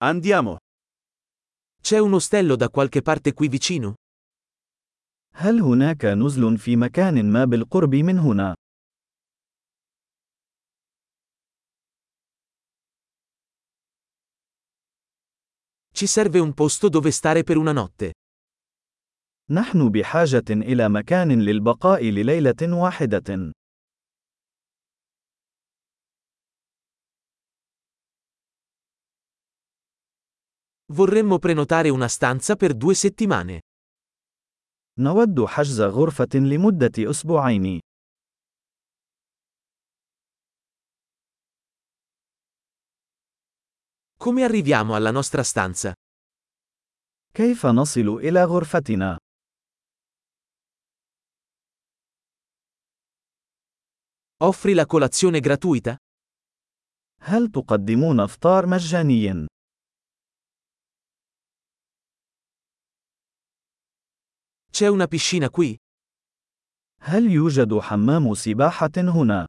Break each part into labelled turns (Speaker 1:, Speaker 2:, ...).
Speaker 1: Andiamo.
Speaker 2: C'è un ostello da qualche parte qui vicino?
Speaker 3: هل هناك نزل في مكان ما بالقرب من هنا؟
Speaker 2: Ci serve un posto dove stare per una notte.
Speaker 3: نحن بحاجة إلى مكان للبقاء لليلة واحدة.
Speaker 2: Vorremmo prenotare una stanza per 2 settimane.
Speaker 3: نود حجز غرفة لمدة أسبوعين.
Speaker 2: Come arriviamo alla nostra stanza?
Speaker 3: كيف نصل إلى غرفتنا؟
Speaker 2: Offri la colazione gratuita?
Speaker 3: هل تقدمون إفطار مجاني؟
Speaker 2: C'è una piscina qui?
Speaker 3: هل يوجد حمام سباحة هنا؟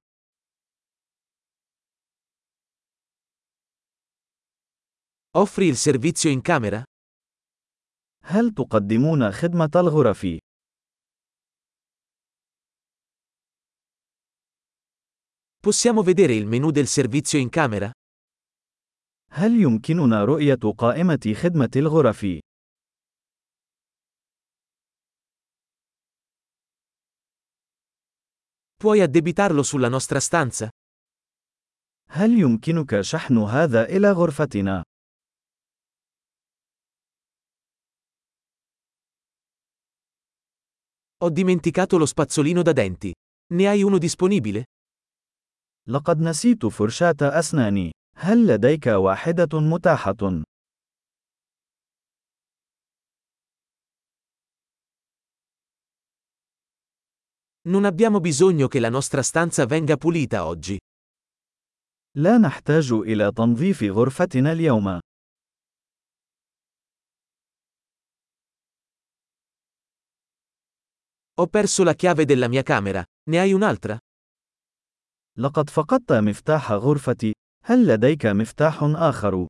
Speaker 2: Offri il servizio in camera?
Speaker 3: هل تقدمون خدمة الغرف؟
Speaker 2: Possiamo vedere il menu del servizio in camera?
Speaker 3: هل يمكننا رؤية قائمة خدمة الغرف؟
Speaker 2: Puoi addebitarlo sulla nostra stanza?
Speaker 3: هل يمكنك شحن هذا إلى غرفتنا؟
Speaker 2: Ho dimenticato lo spazzolino da denti. Ne hai uno disponibile?
Speaker 3: لقد نسيت فرشاة أسناني. هل لديك واحدة متاحة؟
Speaker 2: Non abbiamo bisogno che la nostra stanza venga pulita oggi.
Speaker 3: لا نحتاج إلى تنظيف غرفتنا اليوم.
Speaker 2: Ho perso la chiave della mia camera. Ne hai un'altra?
Speaker 3: لقد فقدت مفتاح غرفتي. هل لديك مفتاح آخر؟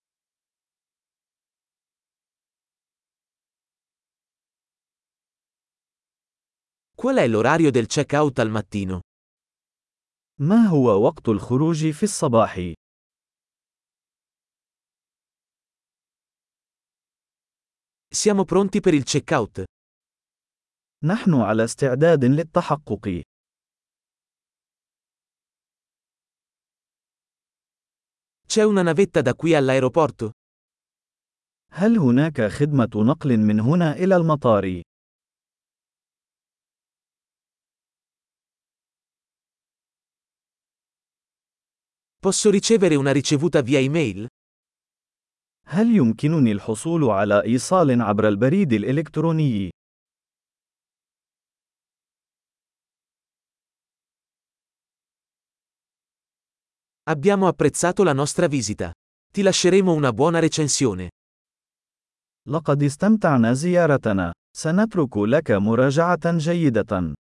Speaker 2: Qual è l'orario del check-out al mattino?
Speaker 3: ما هو وقت الخروج في الصباح؟
Speaker 2: Siamo pronti per il check-out.
Speaker 3: نحن على استعداد للتحقق.
Speaker 2: C'è una navetta da qui all'aeroporto?
Speaker 3: هل هناك خدمة نقل من هنا إلى المطار؟
Speaker 2: Posso ricevere una ricevuta via email?
Speaker 3: هل يمكنني الحصول على إيصال عبر البريد الإلكتروني؟
Speaker 2: Abbiamo apprezzato la nostra visita. Ti lasceremo una buona recensione.
Speaker 3: لقد استمتعنا زيارتنا. سنترك لك مراجعة جيدة.